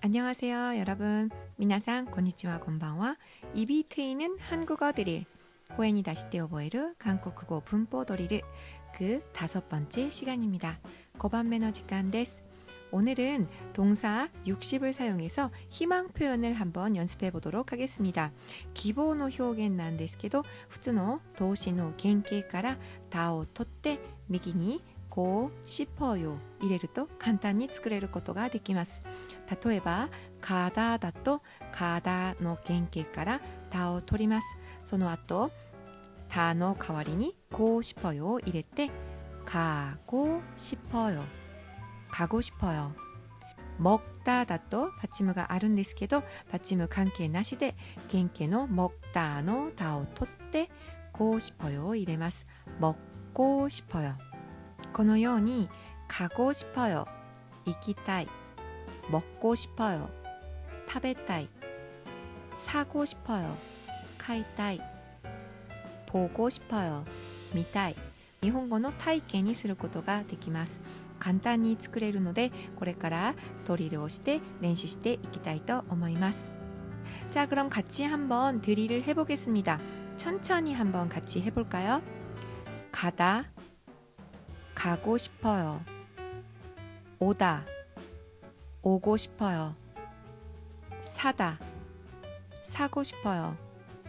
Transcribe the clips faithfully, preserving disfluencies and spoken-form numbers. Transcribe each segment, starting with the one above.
안녕하세요, 여러분. 미나상 고니치와 곤방와 입이 트이는 한국어 드릴 고엔이 다시 떼어보이르 한국어 분포 드릴 그 다섯 번째 시간입니다. 고반 매너 직간 데스. 오늘은 동사 육십을 사용해서 희망 표현을 한번 연습해 보도록 하겠습니다. 기본의 표현なんですけど、普通の動詞の原型からたを取って右にこう싶어요入れると簡単に作れることができます。例えば가다だと가다の原型からたを取ります。その後たの代わりにこう싶어요を入れて가고 싶어요 가고 싶어요. 먹다だと받침가あるんですけど받침関係なしで原型の먹다のたを取って고 싶어요を入れます。먹고 싶어요。このように가고 싶어요行きたい먹고 싶어요食べたい사고 싶어요買いたい보고 싶어요見たい日本語の体験にすることができます。簡単に作れるのでこれからドリルをして練習していきたいと思います。자 그럼 같이 한번 드릴을 해보겠습니다. 천천히 한번 같이 해볼까요? 가다 가고 싶어요. 오다 오고 싶어요. 사다 사고 싶어요.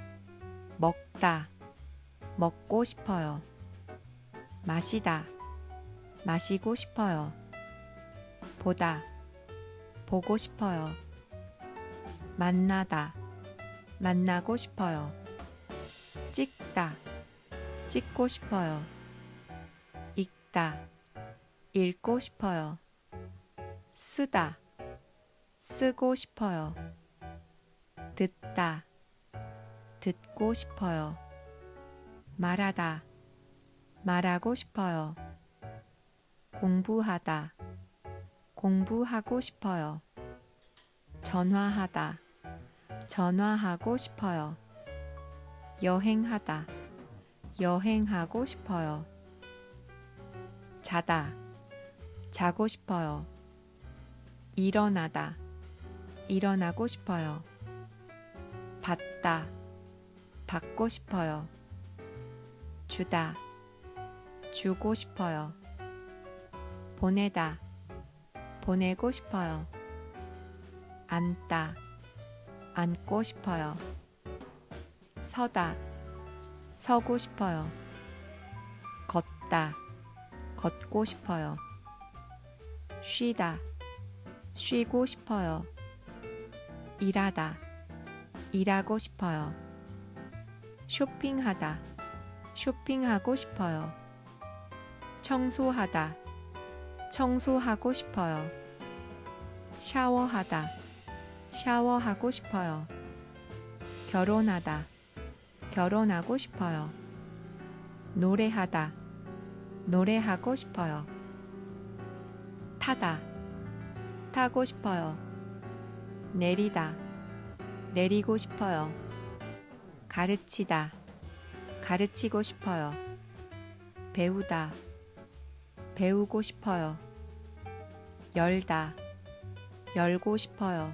먹다 먹고 싶어요. 마시다 마시고 싶어요. 보다 보고 싶어요. 만나다 만나고 싶어요. 찍다 찍고 싶어요. 읽다 읽고 싶어요. 쓰다 쓰고 싶어요. 듣다 듣고 싶어요. 말하다 말하고 싶어요. 공부하다 공부하고 싶어요. 전화하다 전화하고 싶어요. 여행하다 여행하고 싶어요. 자다 자고 싶어요. 일어나다 일어나고 싶어요. 받다 받고 싶어요. 주다 주고 싶어요. 보내다 보내고 싶어요. 앉다 앉고 싶어요. 서다 서고 싶어요. 걷다 걷고 싶어요. 쉬다 쉬고 싶어요. 일하다 일하고 싶어요. 쇼핑하다 쇼핑하고 싶어요. 청소하다 청소하고 싶어요. 샤워하다 샤워하고 싶어요. 결혼하다 결혼하고 싶어요. 노래하다 노래하고 싶어요. 타다 타고 싶어요. 내리다 내리고 싶어요. 가르치다 가르치고 싶어요. 배우다 배우고 싶어요. 열다 열고 싶어요.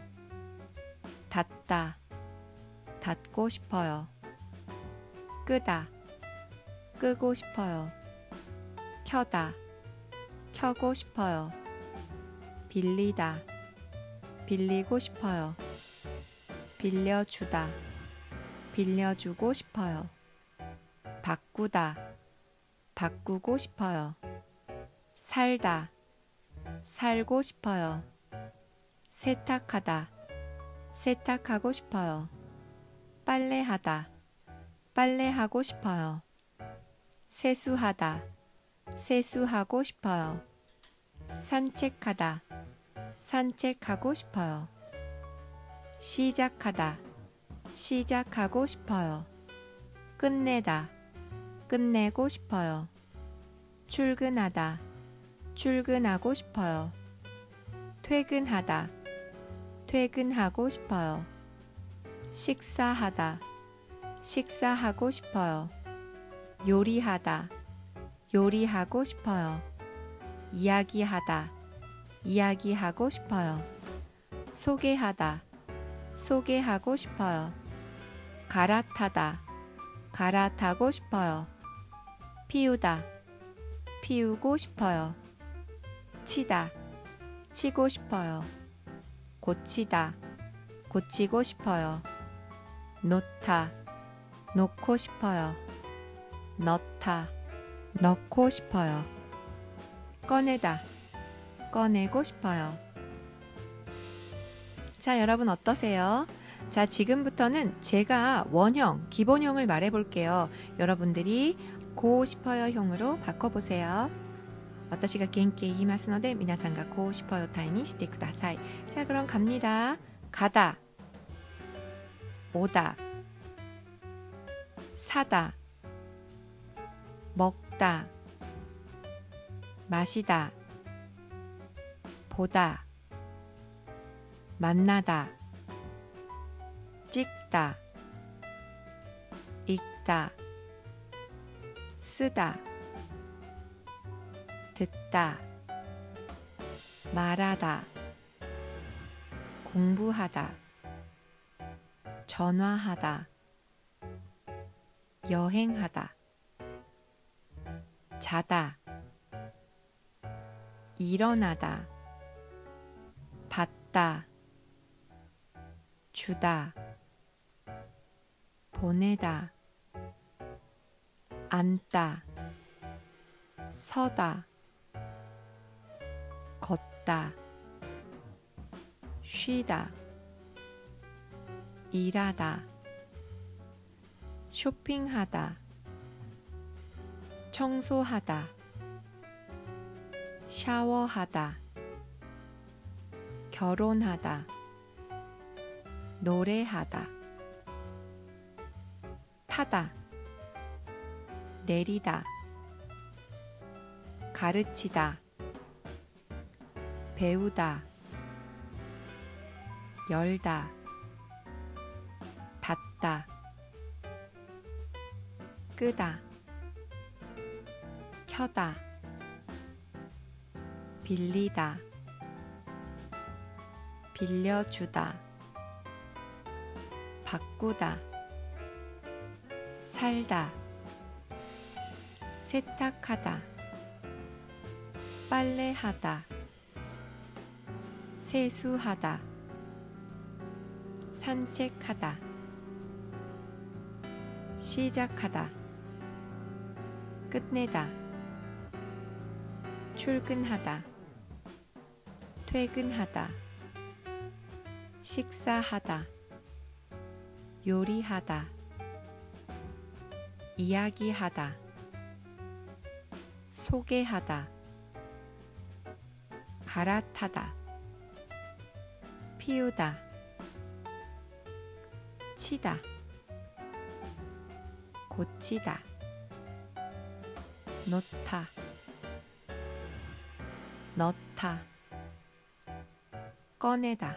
닫다 닫고 싶어요. 끄다 끄고 싶어요. 켜다 켜고 싶어요. 빌리다 빌리고 싶어요. 빌려주다 빌려주고 싶어요. 바꾸다 바꾸고 싶어요. 살다 살고 싶어요. 세탁하다 세탁하고 싶어요. 빨래하다 빨래하고 싶어요. 세수하다 세수하고 싶어요. 산책하다 산책하고 싶어요. 시작하다 시작하고 싶어요. 끝내다 끝내고 싶어요. 출근하다 출근하고 싶어요. 퇴근하다 퇴근하고 싶어요. 식사하다 식사하고 싶어요. 요리하다 요리하고 싶어요. 이야기하다 이야기하고 싶어요. 소개하다, 소개하고 싶어요. 갈아타다, 갈아타고 싶어요. 피우다, 피우고 싶어요. 치다, 치고 싶어요. 고치다, 고치고 싶어요. 놓다, 놓고 싶어요. 넣다, 넣고 싶어요. 꺼내다, 꺼내고 싶어요. 자, 여러분 어떠세요? 자, 지금부터는 제가 원형, 기본형을 말해 볼게요. 여러분들이 고 싶어요 형으로 바꿔보세요. 私が原型言いますので皆さんがこう싶어요タイにしてください。 자, 그럼 갑니다. 가다, 오다, 사다, 먹다, 마시다, 보다, 만나다, 찍다, 읽다, 쓰다, 듣다, 말하다, 공부하다, 전화하다, 여행하다, 자다, 일어나다, 받다, 주다, 보내다, 앉다, 서다, 걷다, 쉬다, 일하다, 쇼핑하다, 청소하다, 샤워하다, 결혼하다, 노래하다, 타다, 내리다, 가르치다, 배우다, 열다, 닫다, 끄다, 켜다, 빌리다, 빌려주다, 바꾸다, 살다, 세탁하다, 빨래하다, 세수하다, 산책하다, 시작하다, 끝내다, 출근하다, 퇴근하다, 식사하다, 요리하다, 이야기하다, 소개하다, 갈아타다, 피우다, 치다, 고치다, 놓다, 넣다, 꺼내다.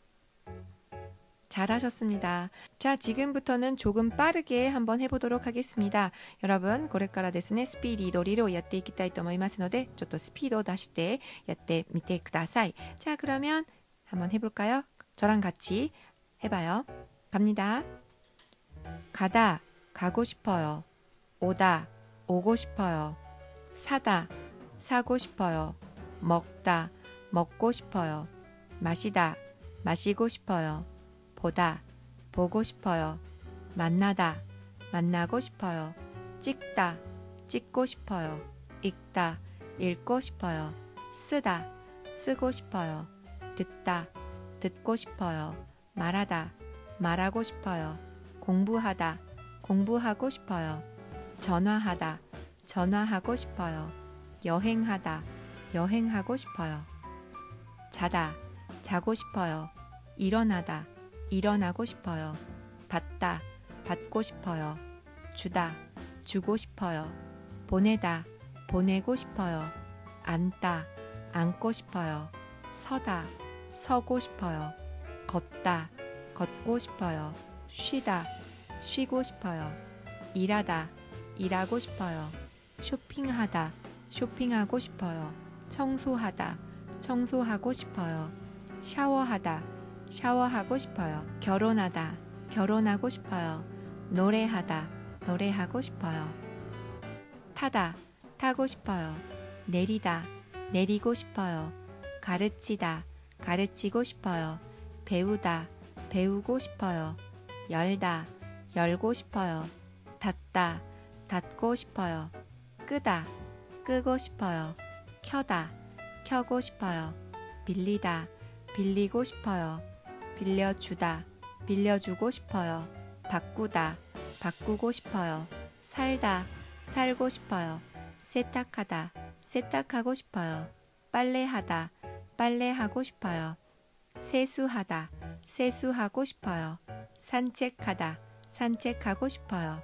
잘하셨습니다. 자, 지금부터는 조금 빠르게 한번 해보도록 하겠습니다. 여러분, これからですね、スピーディードリルをやっていきたいと思いますので、ちょっとスピードを出してやってみてください. 자, 그러면 한번 해볼까요? 저랑 같이 해봐요. 갑니다. 가다, 가고 싶어요. 오다, 오고 싶어요. 사다, 사고 싶어요. 먹다, 먹고 싶어요. 마시다, 마시고 싶어요. 보다, 보고 싶어요. 만나다, 만나고 싶어요. 찍다, 찍고 싶어요. 읽다, 읽고 싶어요. 쓰다, 쓰고 싶어요. 듣다, 듣고 싶어요. 말하다, 말하고 싶어요. 공부하다, 공부하고 싶어요. 전화하다, 전화하고 싶어요. 여행하다, 여행하고 싶어요. 자다, 자고 싶어요. 일어나다, 일어나고 싶어요. 받다, 받고 싶어요. 주다, 주고 싶어요. 보내다, 보내고 싶어요. 앉다, 앉고 싶어요. 서다, 서고 싶어요. 걷다, 걷고 싶어요. 쉬다, 쉬고 싶어요. 일하다, 일하고 싶어요. 쇼핑하다, 쇼핑하고 싶어요. 청소하다, 청소하고 싶어요. 샤워하다, 샤워하고 싶어요. 결혼하다, 결혼하고 싶어요. 노래하다, 노래하고 싶어요. 타다, 타고 싶어요. 내리다, 내리고 싶어요. 가르치다, 가르치고 싶어요. 배우다, 배우고 싶어요. 열다, 열고 싶어요. 닫다, 닫고 싶어요. 끄다, 끄고 싶어요. 켜다, 켜고 싶어요. 빌리다, 빌리고 싶어요. 빌려주다, 빌려주고 싶어요. 바꾸다, 바꾸고 싶어요. 살다, 살고 싶어요. 세탁하다, 세탁하고 싶어요. 빨래하다, 빨래하고 싶어요. 세수하다, 세수하고 싶어요. 산책하다, 산책하고 싶어요.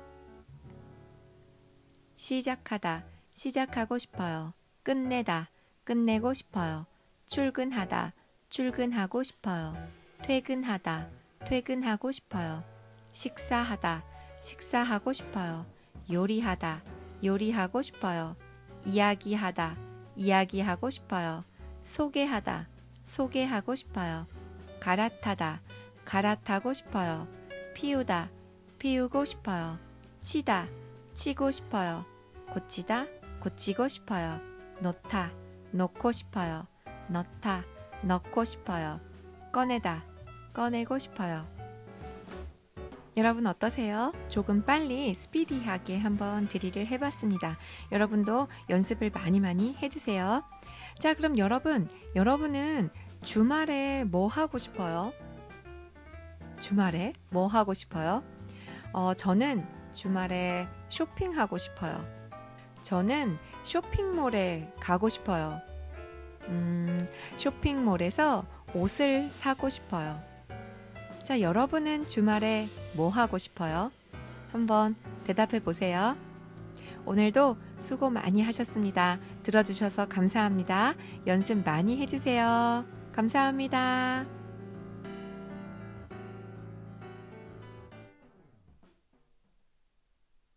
시작하다, 시작하고 싶어요. 끝내다, 끝내고 싶어요. 출근하다, 출근하고 싶어요. 퇴근하다, 퇴근하고 싶어요. 식사하다, 식사하고 싶어요. 요리하다, 요리하고 싶어요. 이야기하다, 이야기하고 싶어요. 소개하다, 소개하고 싶어요. 갈아타다, 갈아타고 싶어요. 피우다, 피우고 싶어요. 치다, 치고 싶어요. 고치다, 고치고 싶어요. 놓다, 놓고 싶어요. 넣다, 넣고 싶어요. 꺼내다, 꺼내고 싶어요. 여러분 어떠세요? 조금 빨리 스피디하게 한번 드릴을 해봤습니다. 여러분도 연습을 많이 많이 해주세요. 자, 그럼 여러분, 여러분은 주말에 뭐 하고 싶어요? 주말에 뭐 하고 싶어요? 어, 저는 주말에 쇼핑하고 싶어요. 저는 쇼핑몰에 가고 싶어요. 음, 쇼핑몰에서 옷을 사고 싶어요. 자, 여러분은 주말에 뭐 하고 싶어요? 한번 대답해 보세요. 오늘도 수고 많이 하셨습니다. 들어주셔서 감사합니다. 연습 많이 해주세요. 감사합니다.